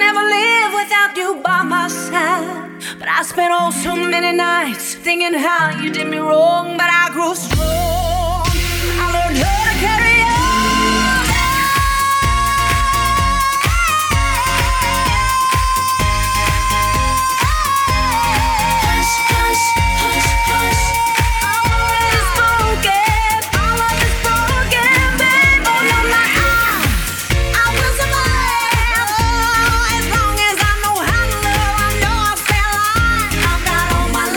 never live without you by my side. But I spent oh so many nights thinking how you did me wrong. But I grew strong. I learned how to carry on.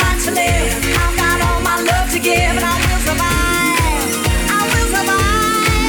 Give and I will survive. I will survive.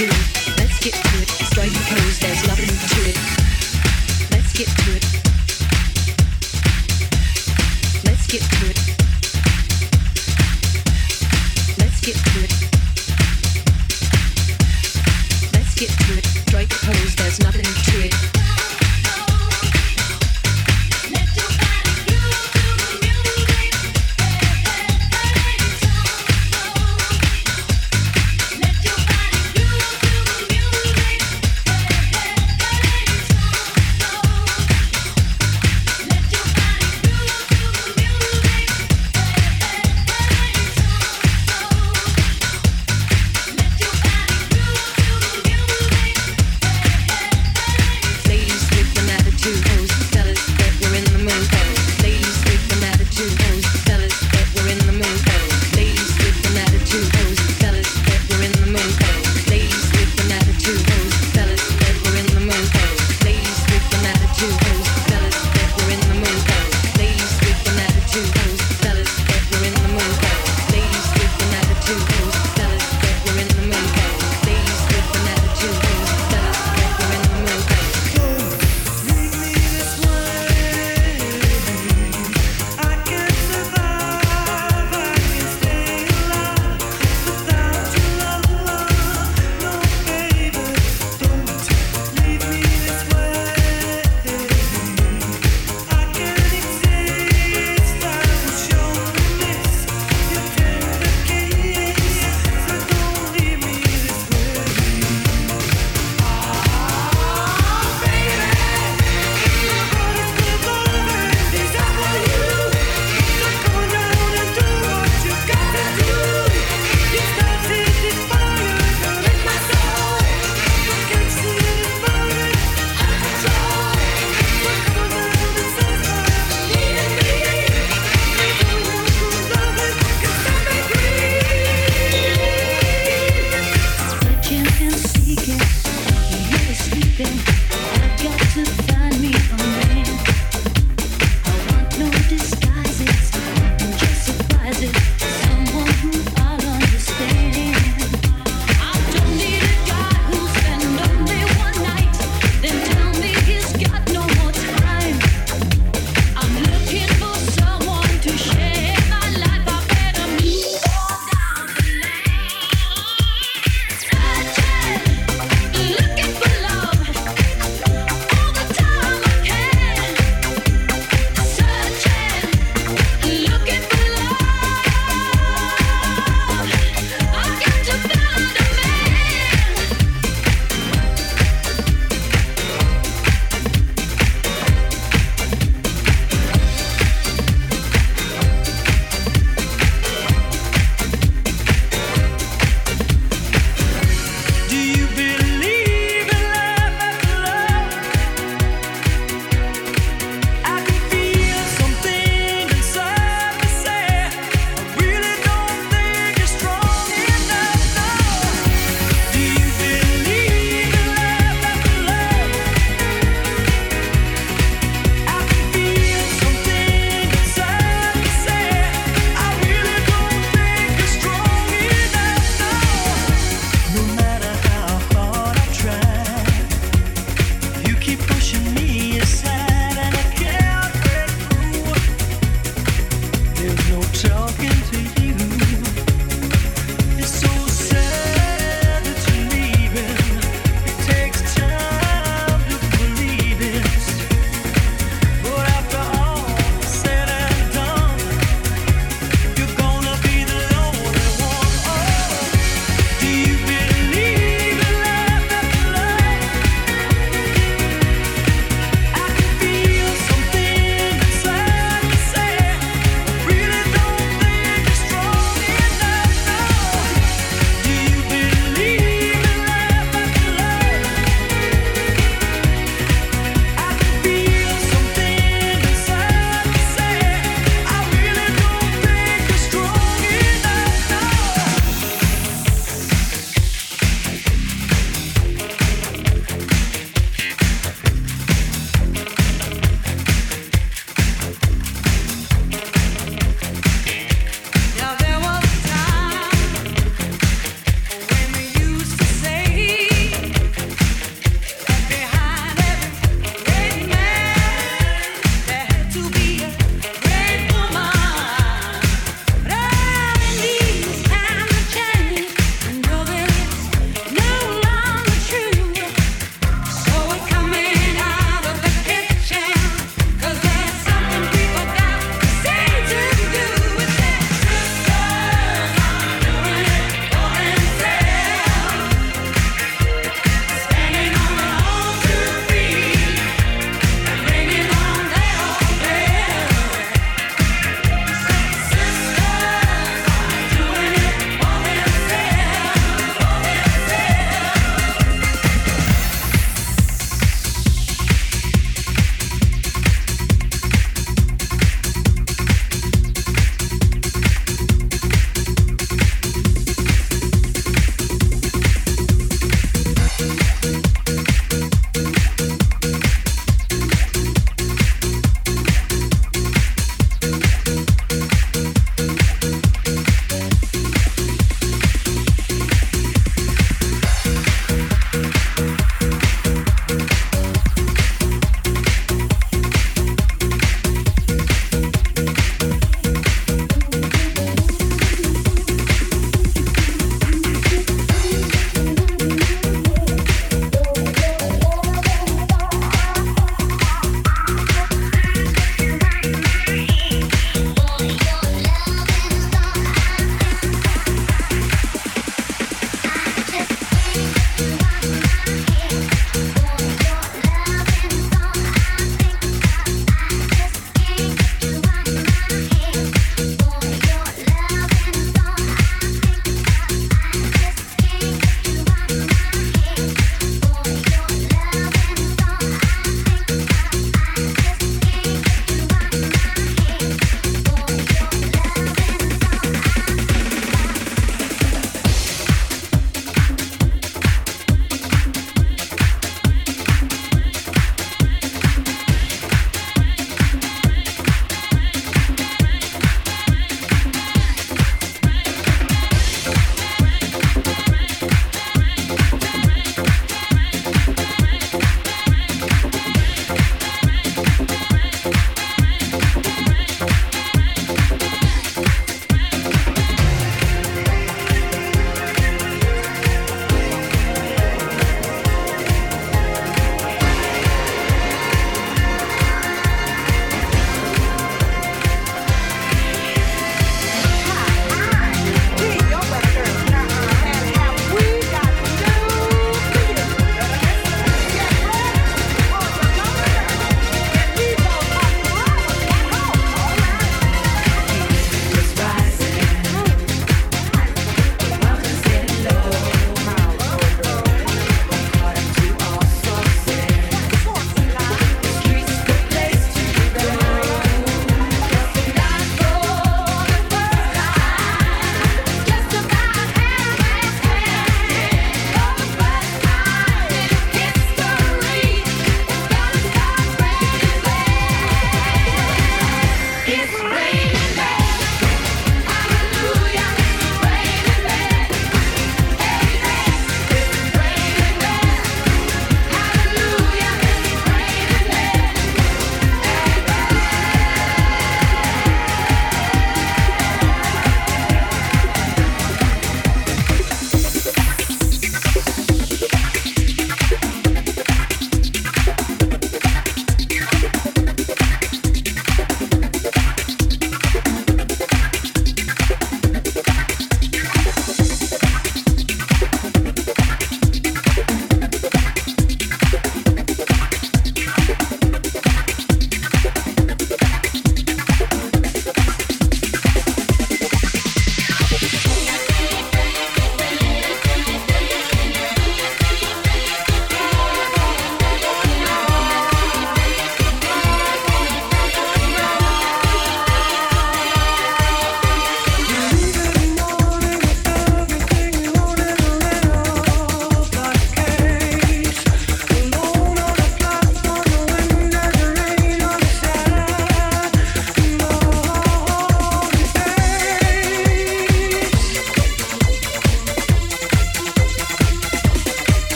to it. Let's get to it. Strike the pose, there's nothing to it. Let's get to it. Let's get to it. Let's get to it. Let's get to it. Strike the pose, there's nothing to it.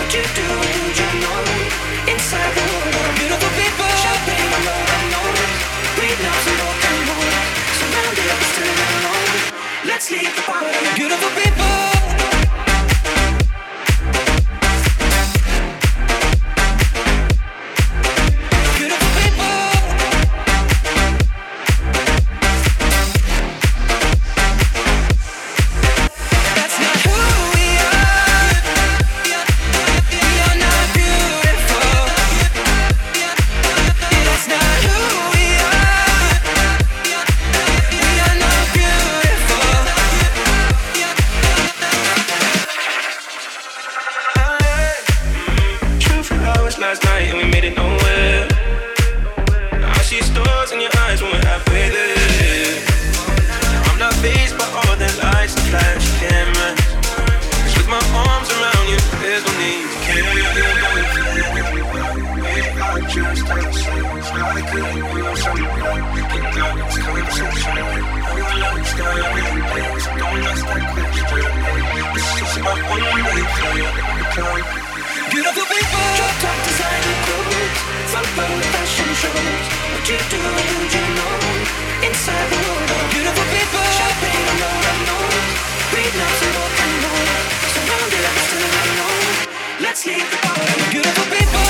what you do, you know. Inside the world, beautiful people. Champagne on the nose, breathe now some rock and roll. Surrounded, still alone. Let's leave the party. Beautiful people. Last night and we made it nowhere. Now I see stars in your eyes when we're halfway there. I'm not fazed by all the lights and flash cameras. 'Cause with my arms around you, there's no need to care. I just had sex, I couldn't feel something. Get down this conversation. Who loves that in place? Don't ask that question. It's just about one day for beautiful people. Drop top designer clothes, front row fashion shows. What you do, you know. Inside the world, beautiful people. Champagne on the nose, breathe now some rock and roll. Surrounded, I'm still alone. Let's leave the party. Beautiful people.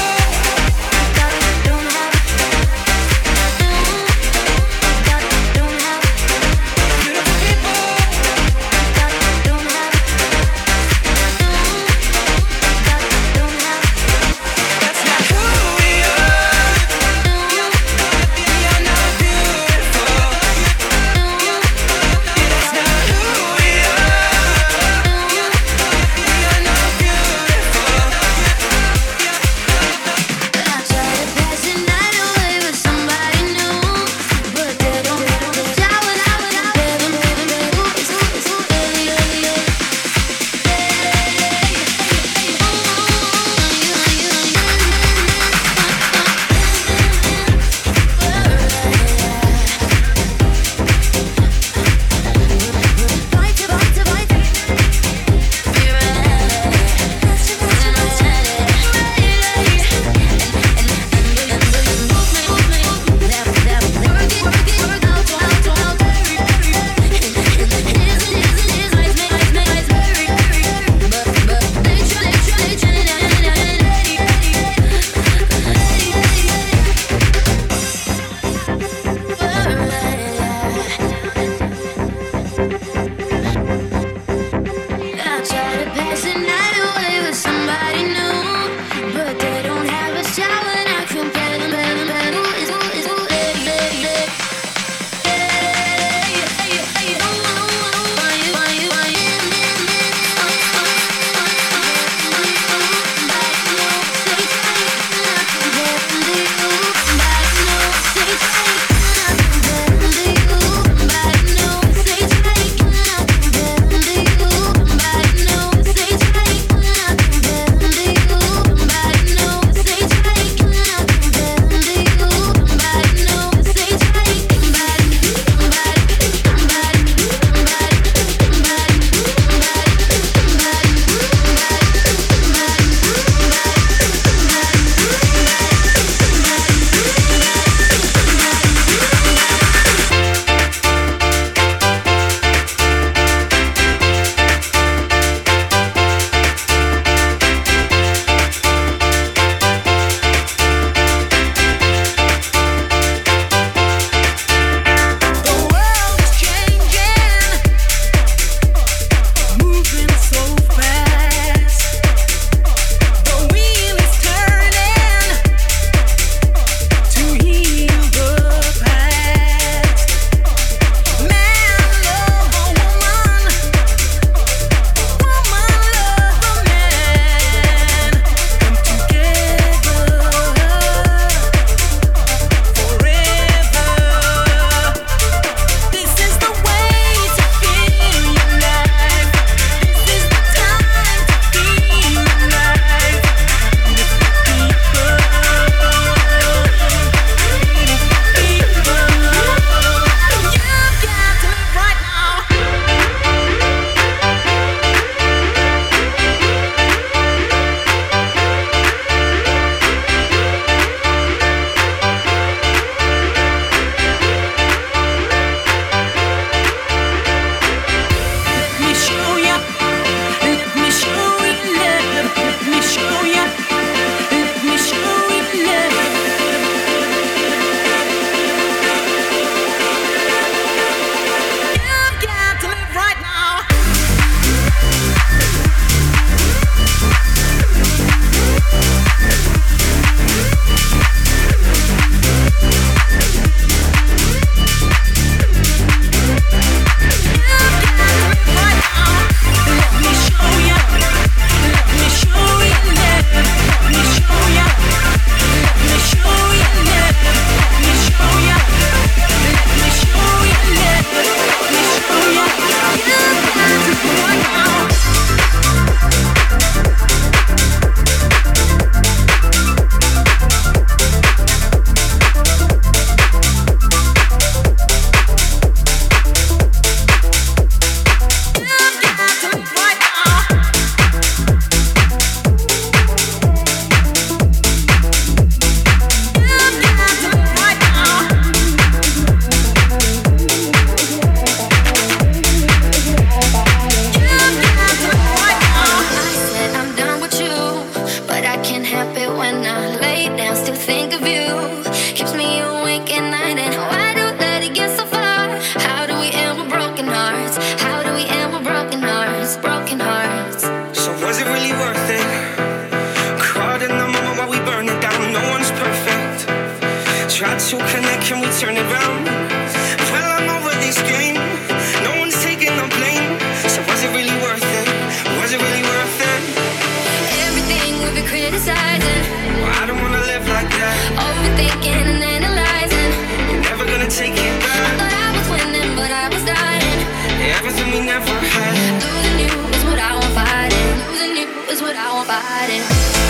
turn it round. Well, I'm over this game. No one's taking no blame. So was it really worth it? Was it really worth it? Everything we've been criticizing. Well, I don't wanna live like that. Overthinking and analyzing. You're never gonna take it I back. thought I was winning, but I was dying. Everything we never had. Losing you is what I want fighting. Losing you is what I want fighting.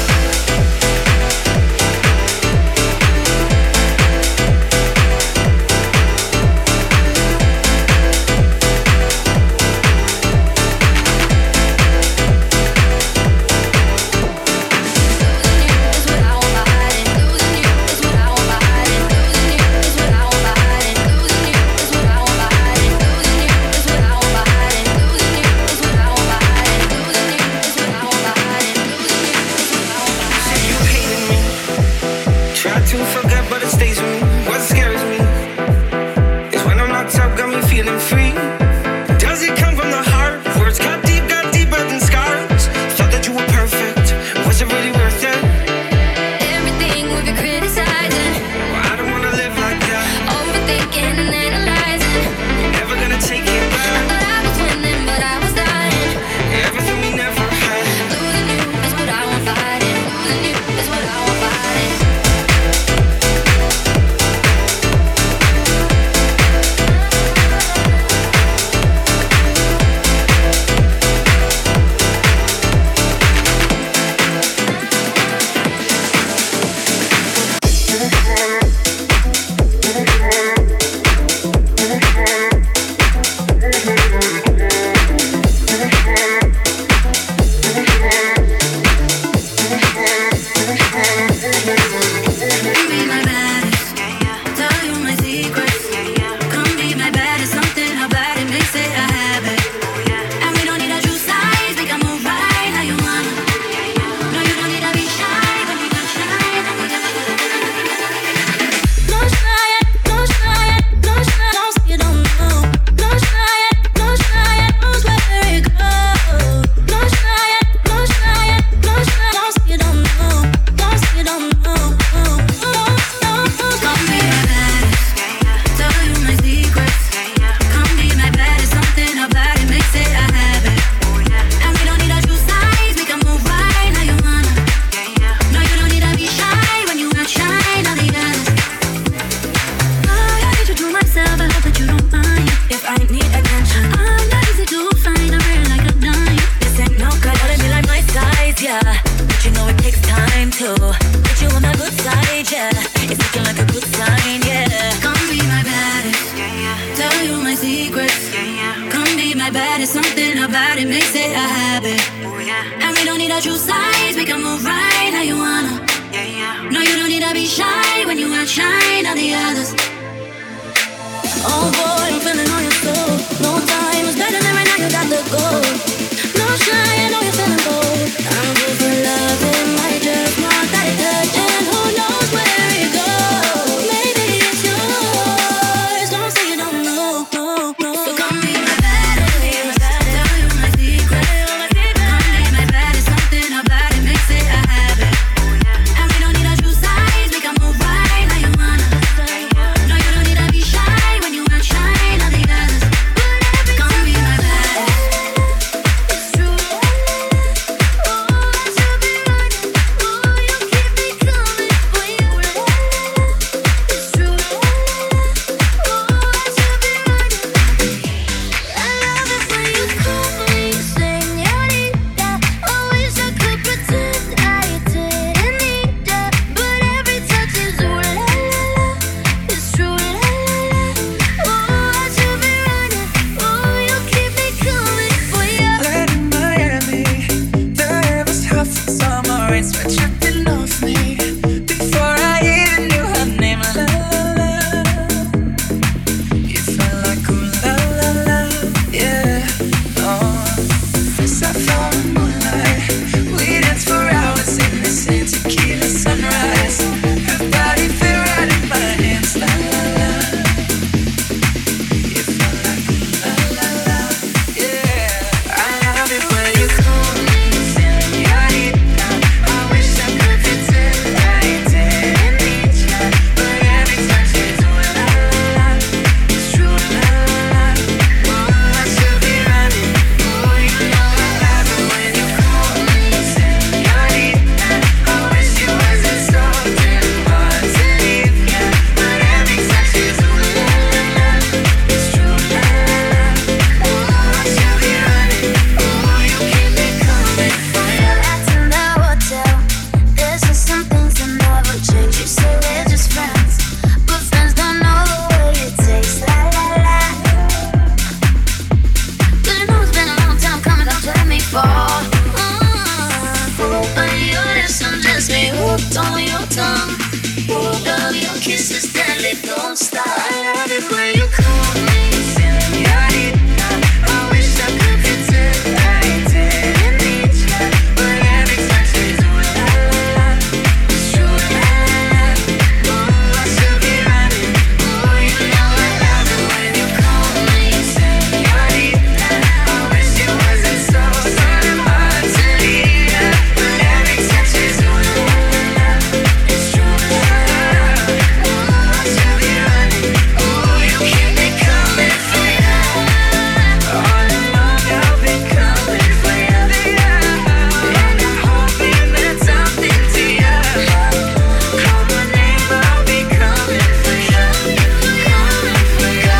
To forget, but it stays with me. What scares me is when I'm knocked out, got me feeling free. Does it come from the heart? Words got deeper than scars. Thought that you were perfect. Was it really worth it? Everything we've been criticizing. Well, I don't wanna live like that. Overthinking and analyzing. You're never gonna take it I back. thought I was winning, but I was dying. Everything we never had. Losing you is what I want fighting. Losing you is what I want fighting. kisses deadly, don't stop. I love it when you call me señorita. I wish I could pretend I didn't need ya, but every time she do la la la, it's true la la la. Ooh, I should be running. Ooh, you know I love it when you call me señorita. I wish it wasn't so hard to leave ya, but every time she do la la la, it's true la la la. Ooh, I should be running. Ooh, you keep me coming for ya. All along I'll be coming for ya, and I'm hoping that something to ya. Call my name, I'll be coming for ya, coming for ya.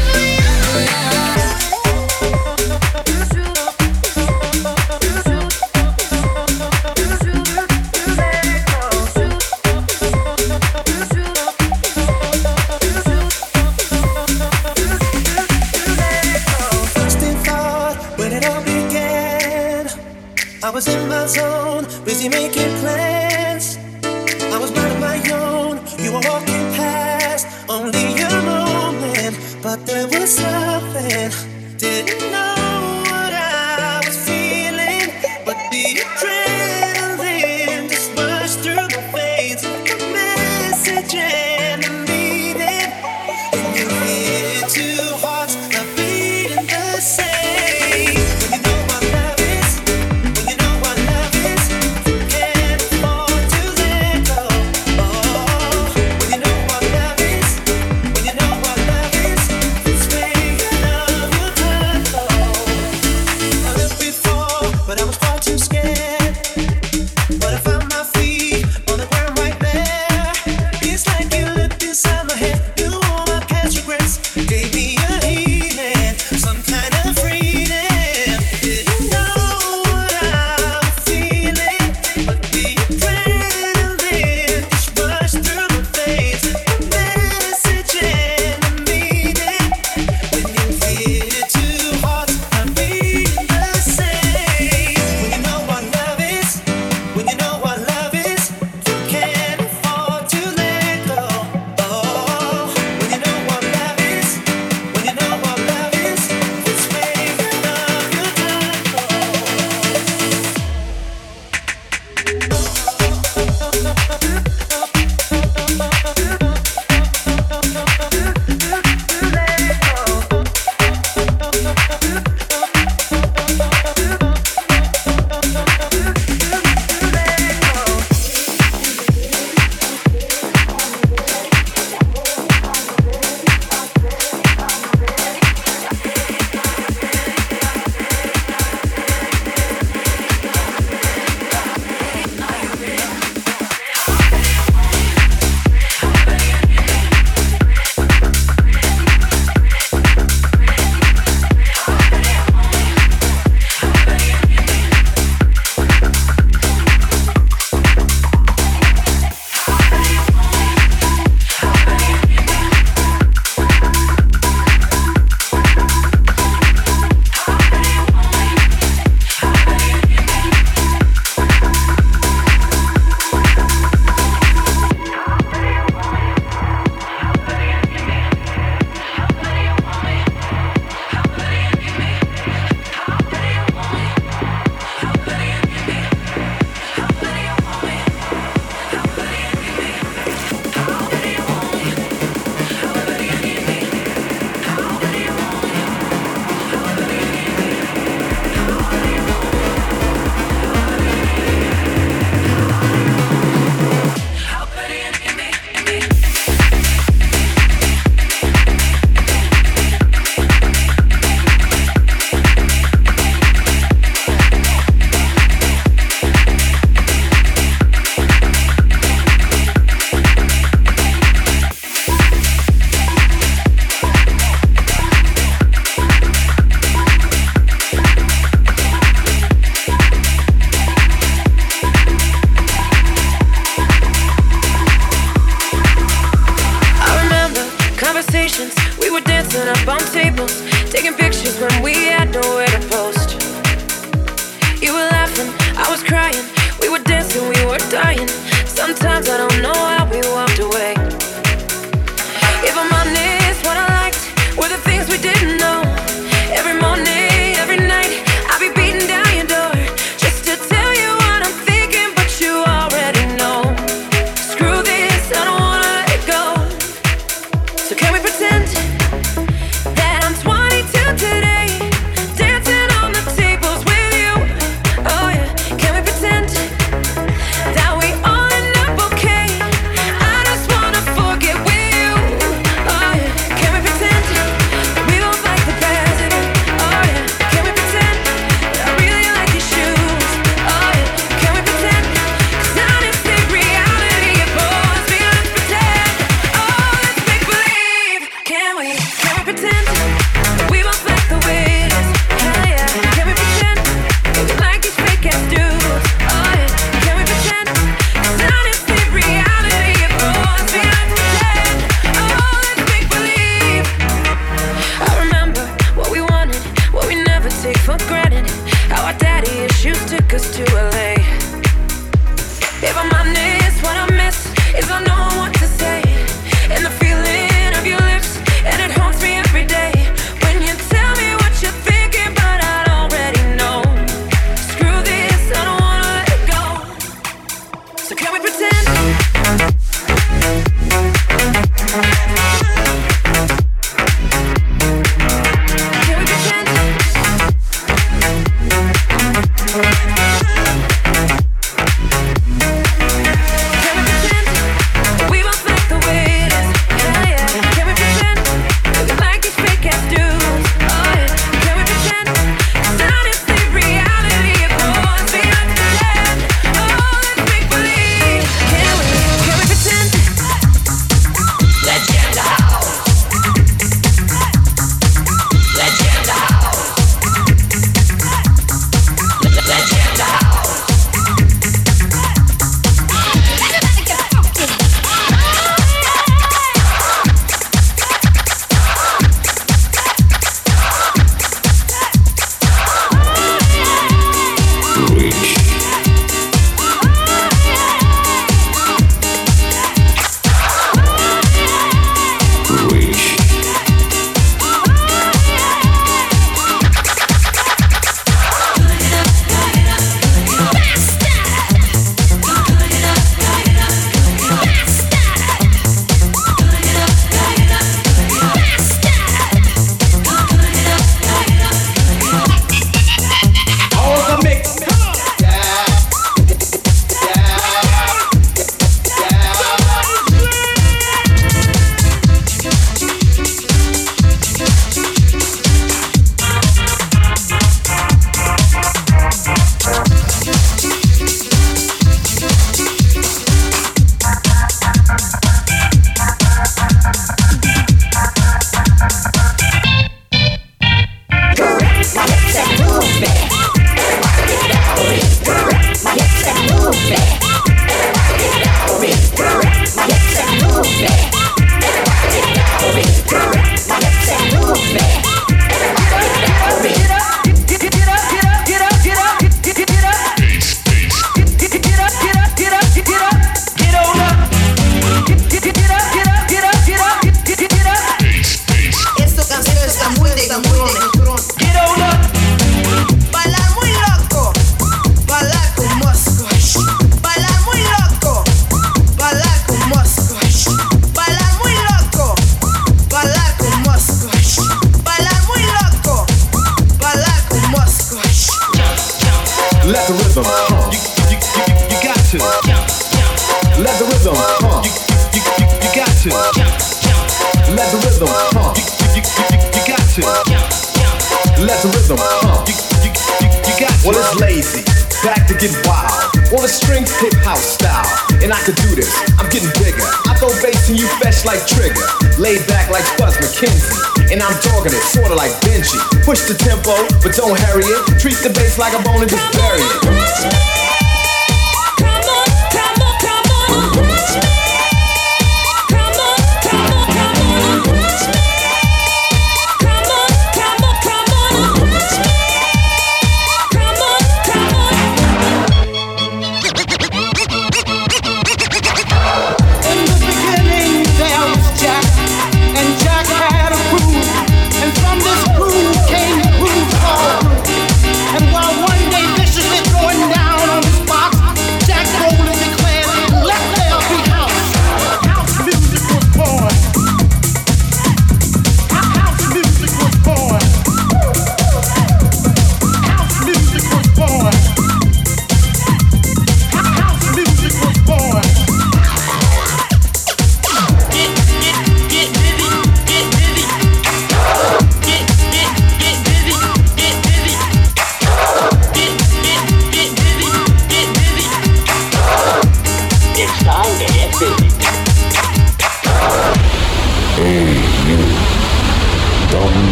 First in thought, when it all began, I was in my zone, busy making plans. I was minding my own, you were walking past, only a moment, but there was something. Didn't know what I was feeling, but the adrenaline just rushed through my veins. A message and a meaning, and you hit two hearts that beating the same. When you know what love is, when you know what love is, you can't afford to let go. Oh, when you know what love is, when you know what love is, it's where you love you turn. Oh, I lived before, but I was far too scared. take for granted how our daddy issues took us to LA. If I'm honest, what I miss is I know what to say, and the feeling of your lips, and it haunts me every day. When you tell me what you're thinking, but I already know. Screw this, I don't wanna let it go. So can we pretend? Push the tempo, but don't hurry it. Treat the bass like a bone and just bury it. And while one day viciously throwing down on his box,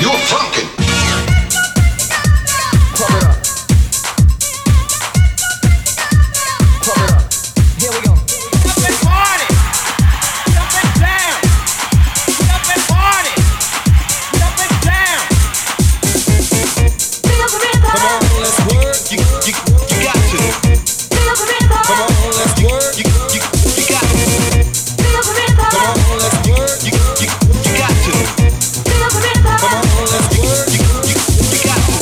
You're funkin'. Pump it up. Pump it up. Here we go. Up and party. Up and down. Up and party. Up and down. Come on, let's work. You got to. Come on, let's work. You got to. Come on, let's work. You got to. Come on, let's work. You got to.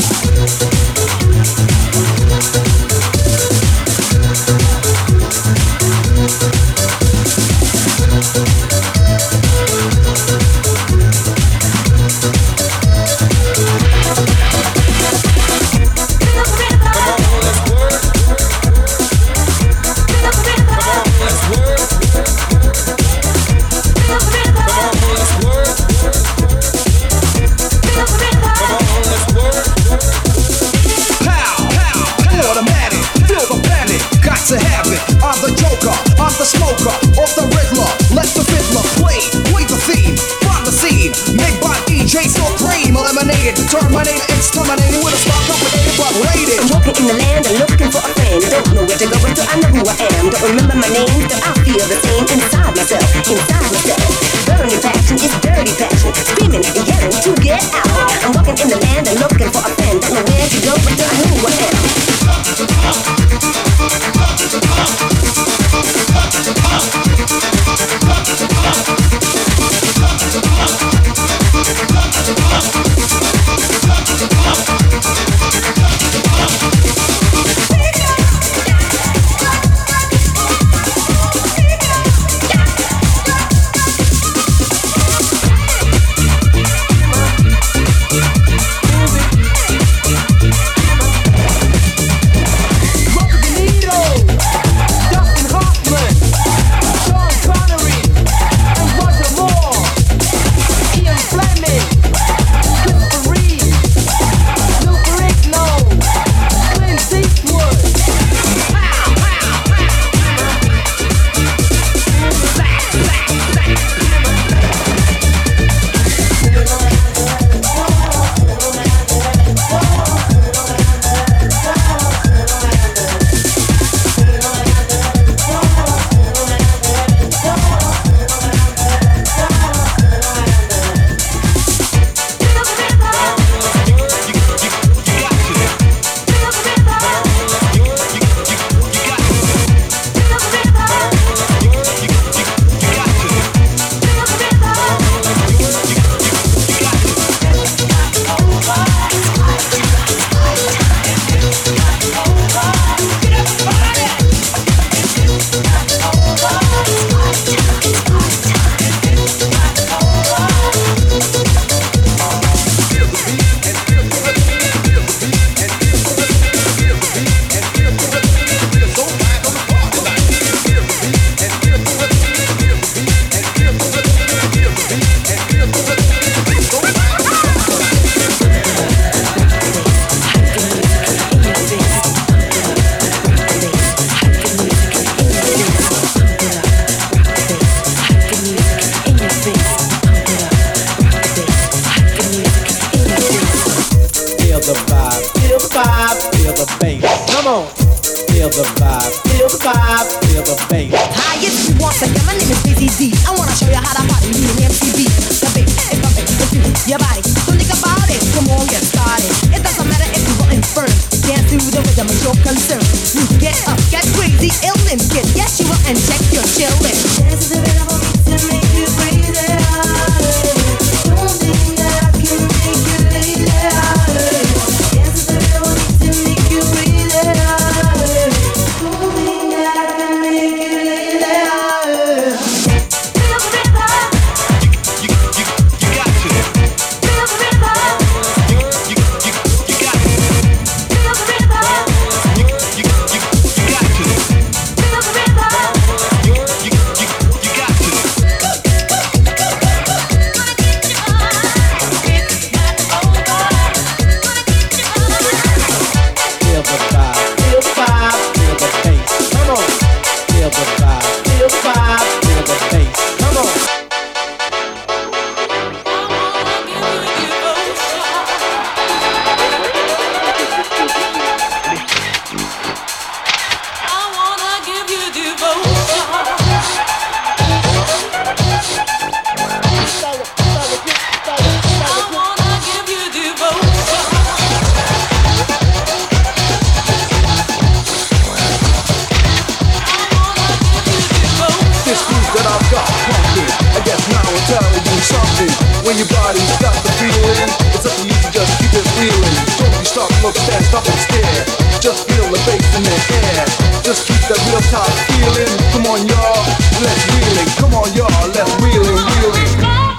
To have it, I'm the Joker, I'm the smoker, off the Riddler, let the fiddler play the theme, from the scene, made by DJ Supreme, eliminated, terminated, exterminated with a spark complicated but rated. I'm walking in the land and looking for a friend, don't know where to go until I know who I am, don't remember my name, but I feel the same inside myself, burning passion is dirty passion, screaming and yelling to get out. I'm walking in the land and looking for a friend, don't know where to go until I know who I am. Make it when your body's got the feeling. It's up to you to just keep it feeling. Don't be stop, look, stand, stop and stare. Just feel the bass in the air. Just keep that real top feeling. Come on, y'all, let's reel it. Come on, y'all, let's reel it, reel it.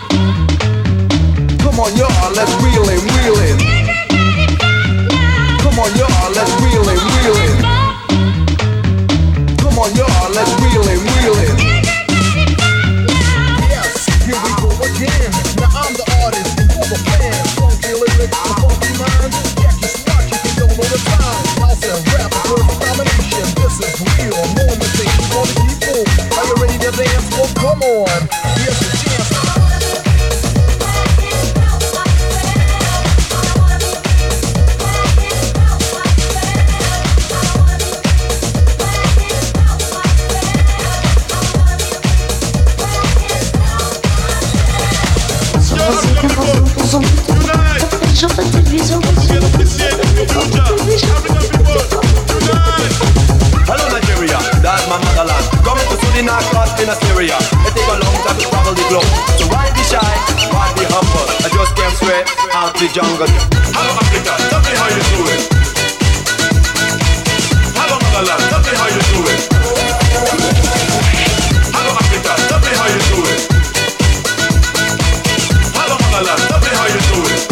Come on, y'all, let's reel it, reel it. Come on, y'all, let's reel it, reel it. Come on, y'all, let's reel it, reel it. Yes, here we go again. Now I'm the artist and you're the fan. Funky lyrics and funky minds. Yeah, you smart, you can go all the time. House and rap, perfect combination. This is real, no imitation for the people. Are you ready to dance? Well, come on. Here's the chance. Hello Nigeria, that's my motherland. Coming to Sudan, class in Assyria. It take a long time to travel the globe. So why be shy, why be humble? I just came straight out the jungle. Hello Africa, tell me how you do it. Hello motherland, tell me how you do it. Hello Africa, tell me how you do it. Hello motherland, tell me how you do it.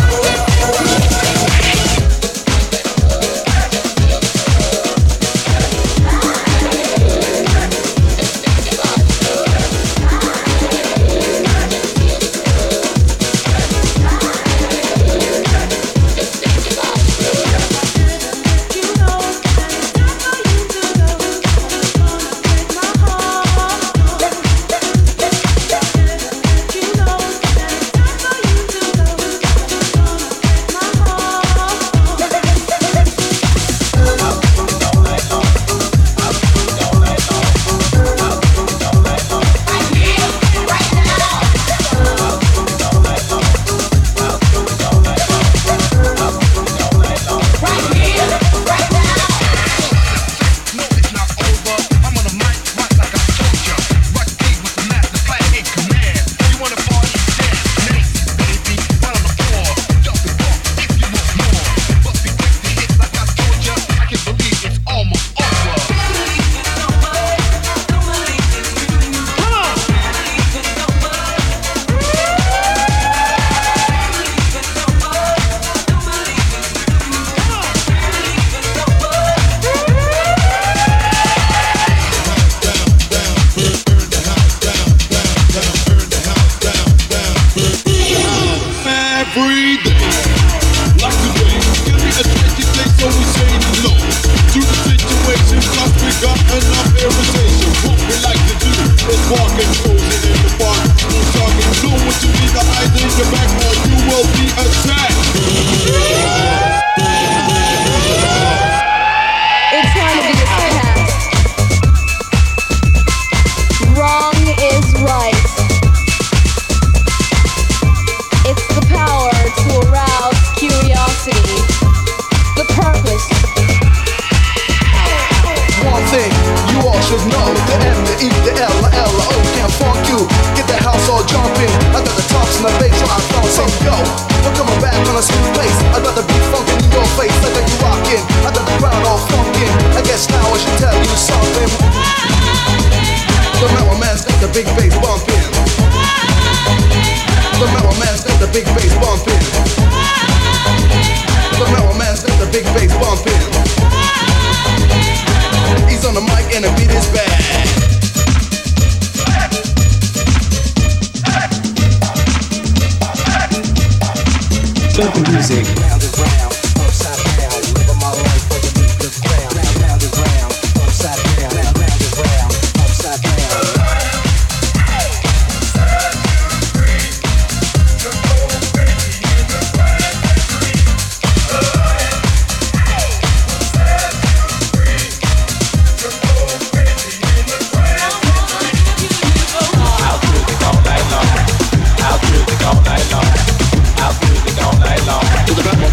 To the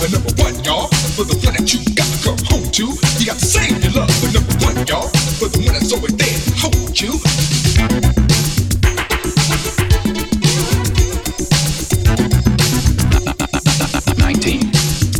for number one, y'all. For the one that you got to come home to. You got to save your love for number one, y'all. For the one that's always there to hold you. 19.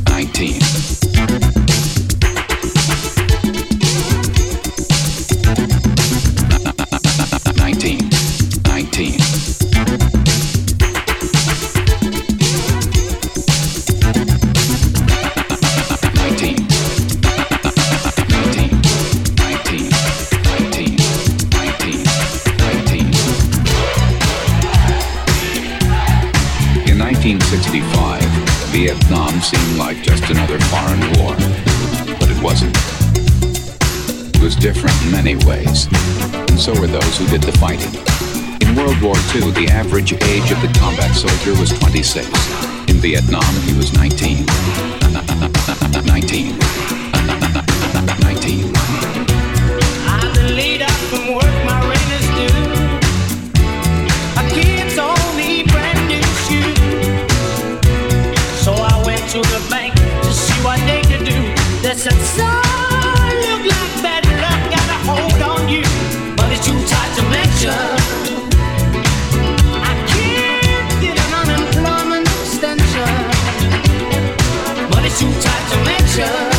1965, Vietnam seemed like just another foreign war, but it wasn't. It was different in many ways, and so were those who did the fighting. In World War II, the average age of the combat soldier was 26. In Vietnam, he was 19. 19. 19. I've been laid out from work, my rent is due. My kids all need brand new shoes. So I went to the bank to see what they could do. They said, son, look like bad luck got a hold on you, but it's too tight to mention. I can't get an unemployment extension, but it's too tight to mention.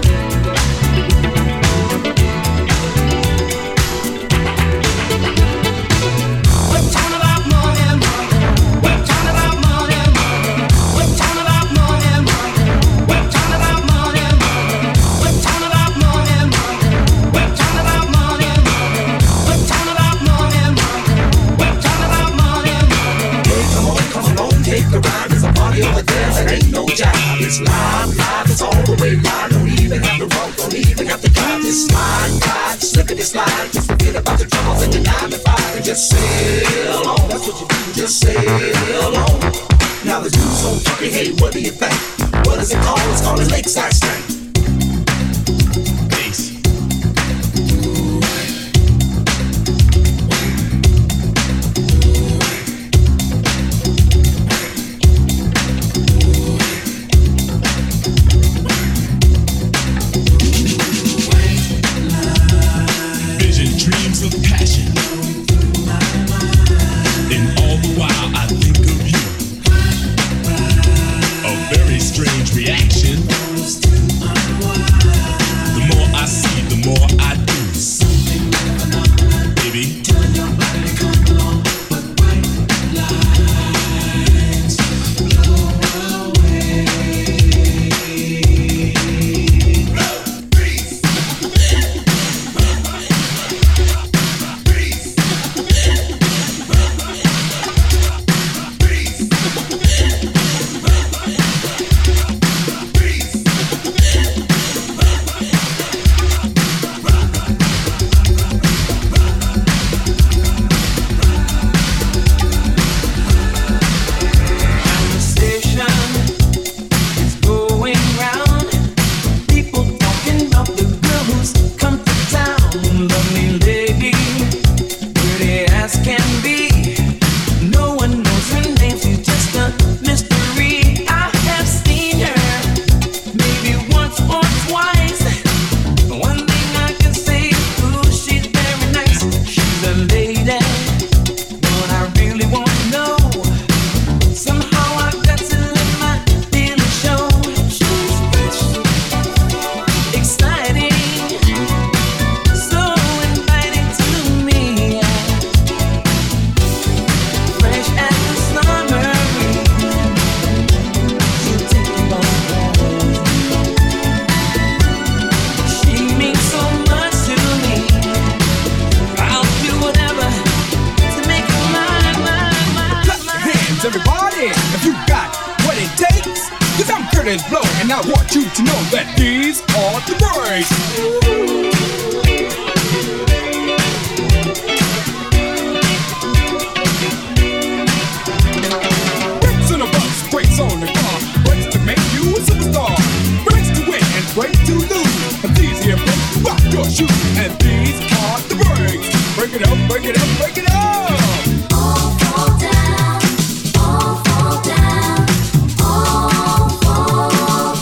It's live, it's all the way live. Don't even have to roll, don't even have to drive. It's slide, slip it, slide. Just forget about the troubles and the 9 to 5 and just sail on. That's what you do, just sail on. Now the dude's so funky, hey, what do you think? What is it called? It's called a lakeside stank. All fall down, all fall down.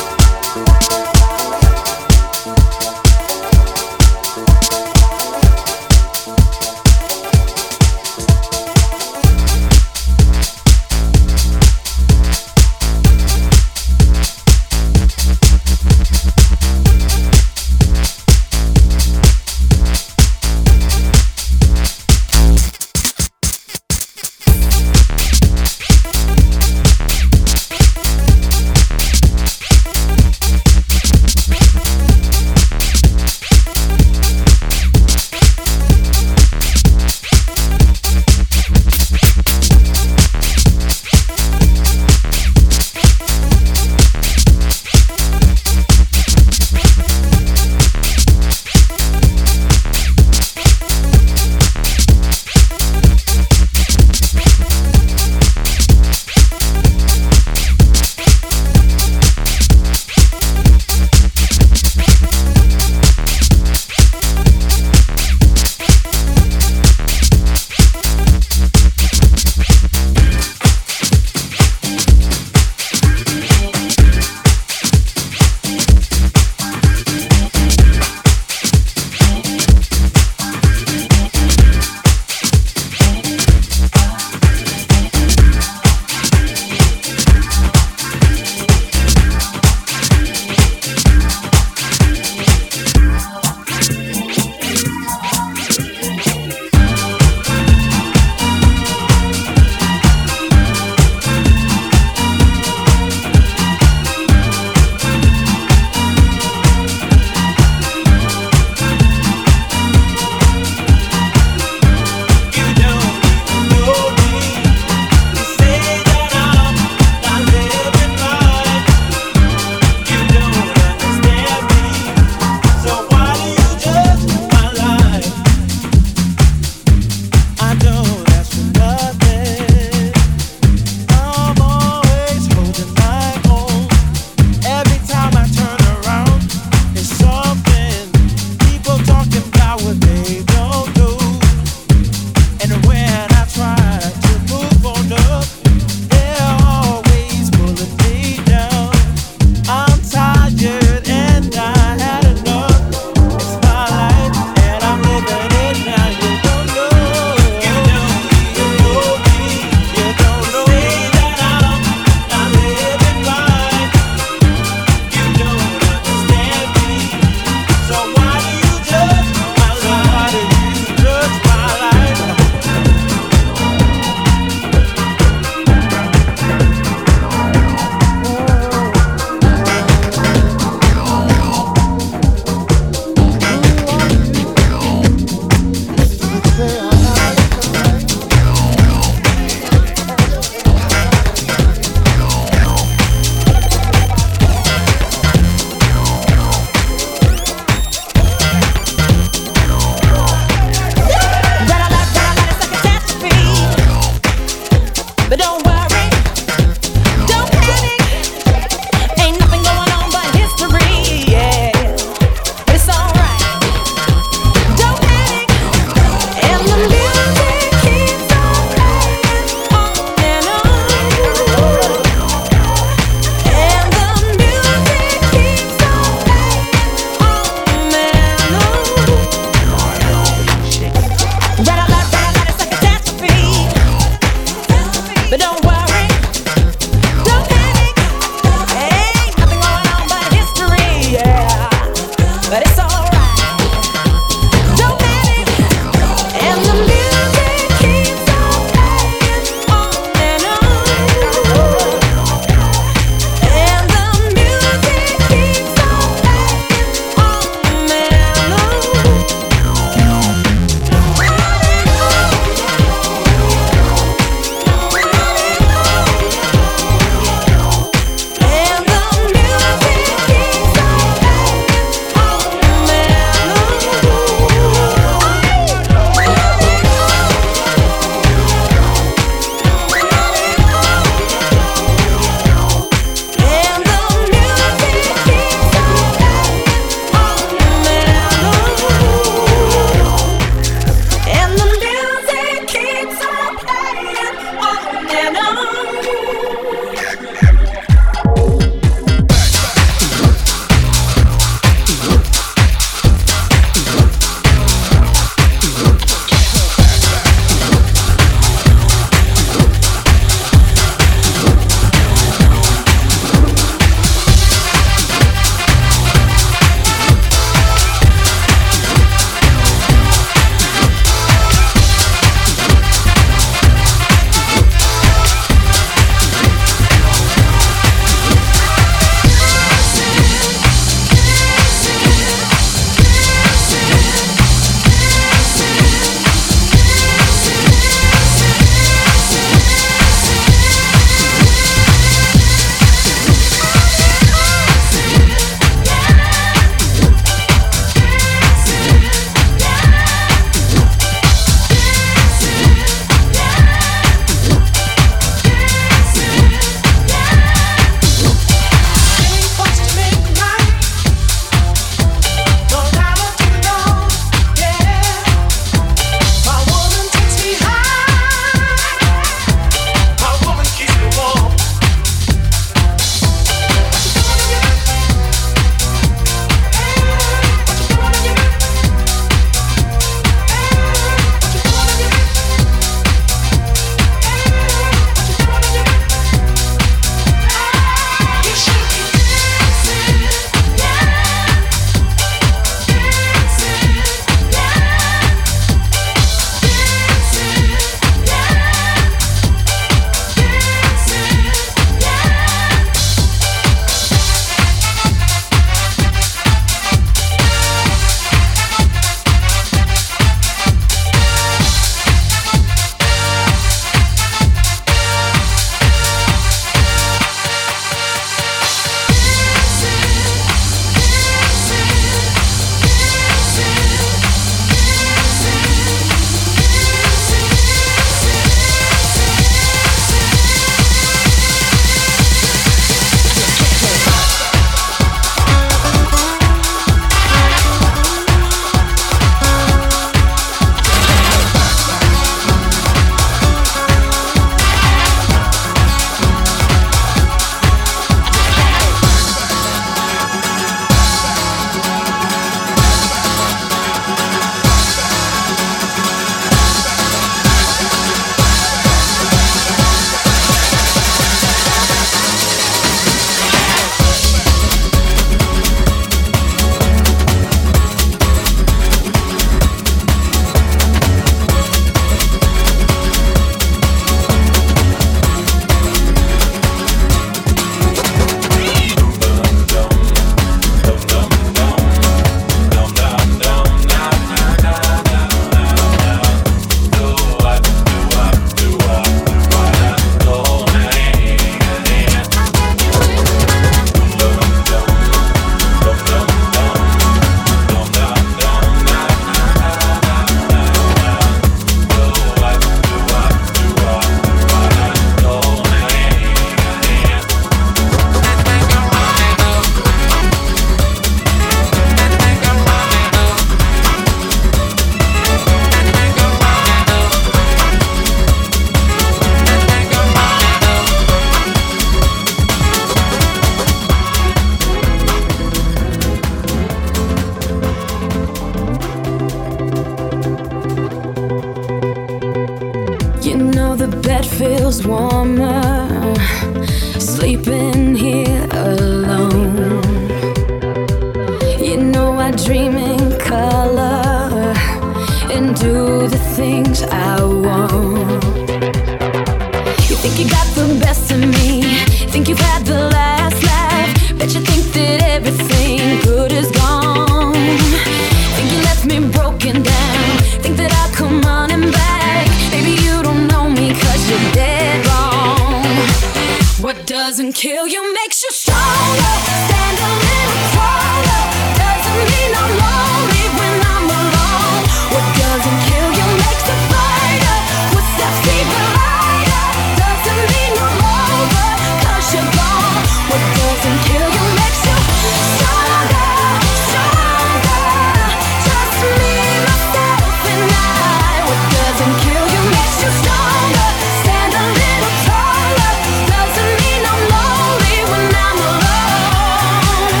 feels warmer sleeping here alone. You know I dream in color and do the things I want. You think you got the best of me, think you've had the last laugh, bet you think that everything good is gone. Think you left me broken down, think that I'll come running back. Baby, you don't know me 'cause you're dead wrong. What doesn't kill you makes you stronger. Stand a little taller. Doesn't mean I'm lonely when I'm alone. What doesn't kill you makes a fighter. Footsteps even lighter. Doesn't mean I'm over 'cause you're gone. What doesn't kill you makes you stronger, stronger. Just me, myself, and I. What doesn't kill you makes you stronger. Stand a little taller. Doesn't mean I'm lonely when I'm alone.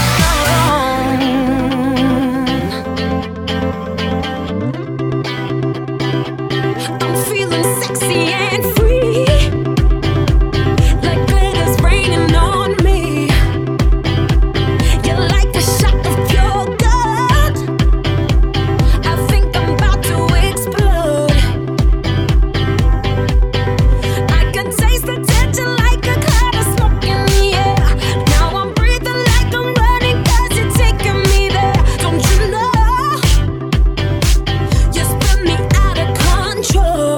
I'm feeling sexy and free, like glitter's raining on me. You're like a shot of pure gold. I think I'm about to explode. I can taste the tension like a cloud of smoke in the air. Now I'm breathing like I'm running 'cause you're taking me there. Don't you know? You spin me out of control.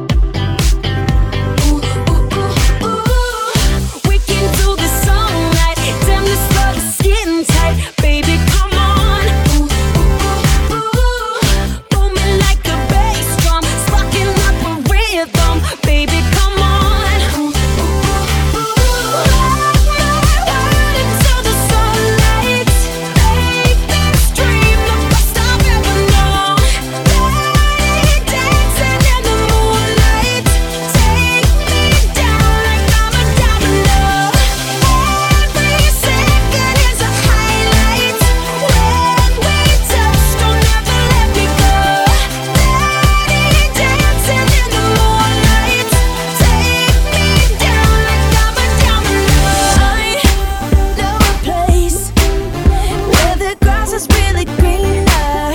Ooh, ooh, ooh, ooh. Waking through the sunlight, damn this love is getting tight. Baby, come on. Ooh, ooh, ooh, ooh. Booming like a bass drum, sparking up a rhythm. Baby, come on. Ooh, ooh, ooh, ooh. Lock my heart into the sunlight. Make this dream the best I've ever known. Lady dancing in the moonlight. Take me down like I'm a domino. Every second is a highlight. When we touch, don't ever let me go. Lady dancing in the moonlight. Take me down like I'm a domino. I know a place where the grass is really greener,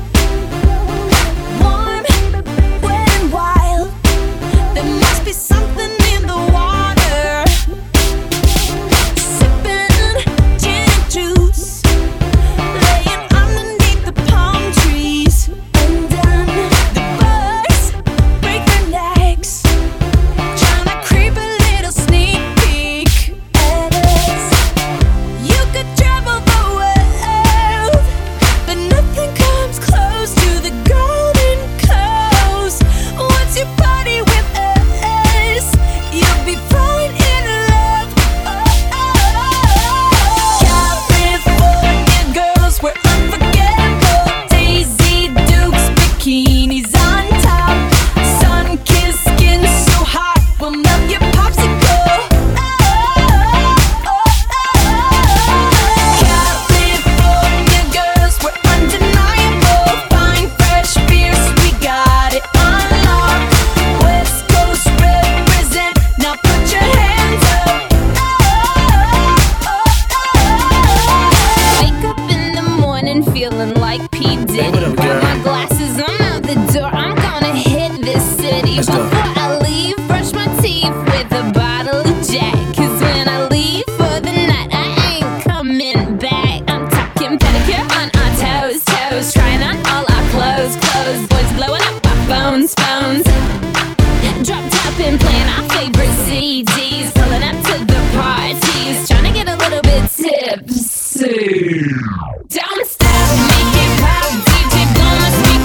warm, wet and wild. There must be something in the water. Sipping gin and juice, laying underneath the palm trees. And then the birds break their necks, trying to creep a little sneak peek at us. You could travel the world, but nothing comes close to the Golden Coast. Once you party with us, you'll be falling in love. Oh, oh. California girls, we're unforgettable. Daisy Dukes, bikinis on top. Sun-kissed skin so hot, we'll melt your popsicle. California girls, we're undeniable. Fine, fresh beers, we got it on lock. West Coast represent, now put your hands up. Wake up in the morning feeling like P. Diddy. Grab my glasses, I'm out the door. I'm gonna hit this city. Before I leave, brush my teeth with a bottle of Jack. 'Cause when I leave for the night, I ain't coming back. I'm talking pedicure on our toes, toes. Trying on all our clothes, clothes. Boys blowing up our phones, phones. Drop top and playing our favorite CDs. Pulling up to the parties, trying to get a little bit tipsy. Don't stop, make it pop, DJ blow my speakers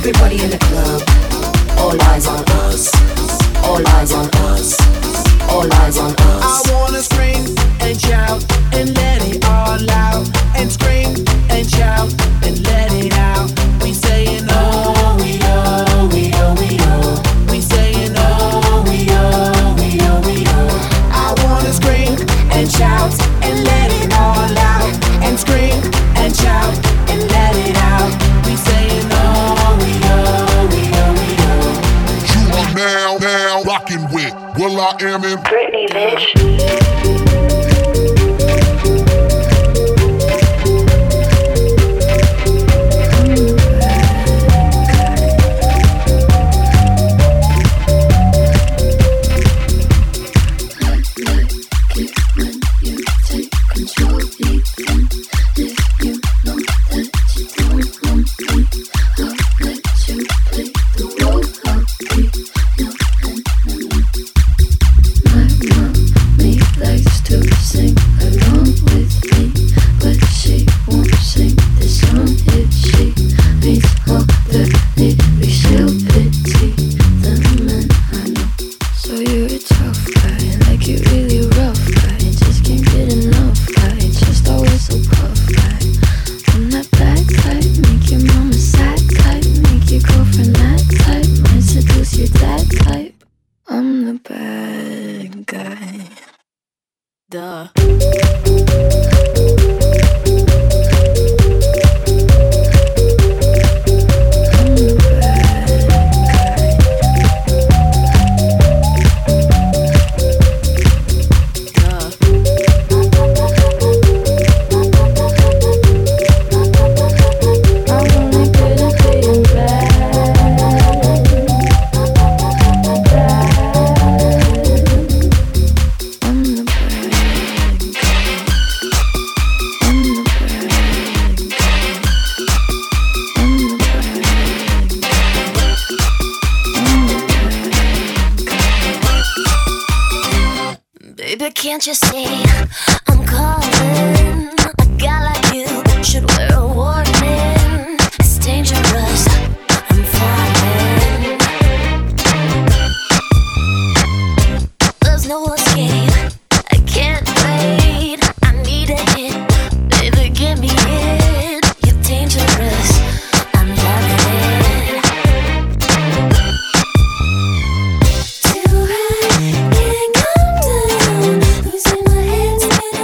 Everybody in the club, all eyes on us. All eyes on us. All eyes on us. I wanna scream and shout and let it all out. And scream and shout and let it out. We saying oh, we oh, we oh, we oh. We saying oh, we oh, we oh, we oh. I wanna scream and shout and let it all out. And scream and shout and let it out. We saying oh, we oh, we oh, we oh. You are now rocking with Will I Am in Britney, bitch. Can't you see I'm calling? A guy like you should wear a warning. It's dangerous, I'm falling. There's no escape, I can't wait. I need a hit, baby, give me it. You're dangerous, I'm loving it. Too high, can't come down. Losing my head, spinning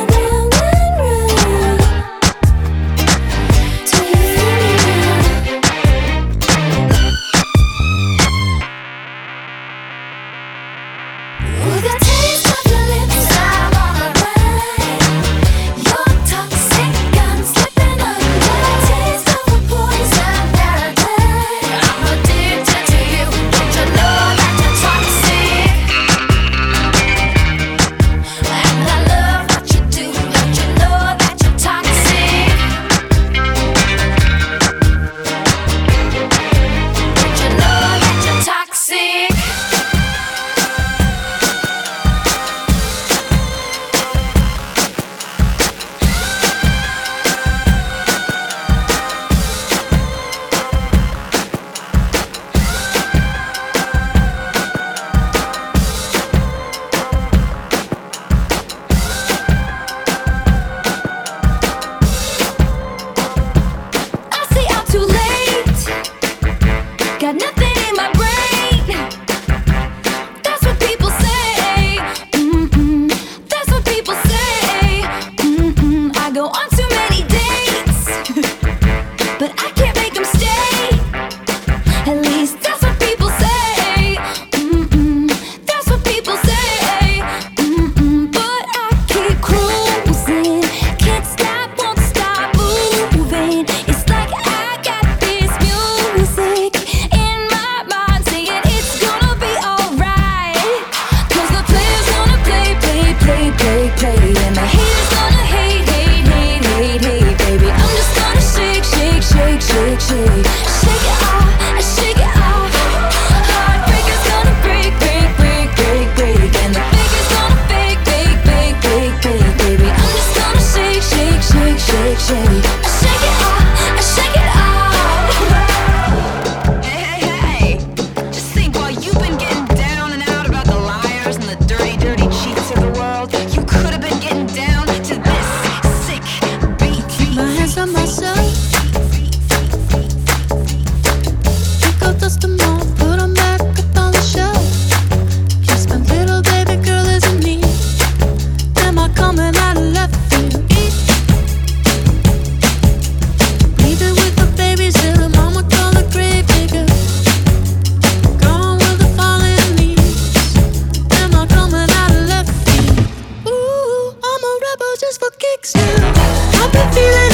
been feeling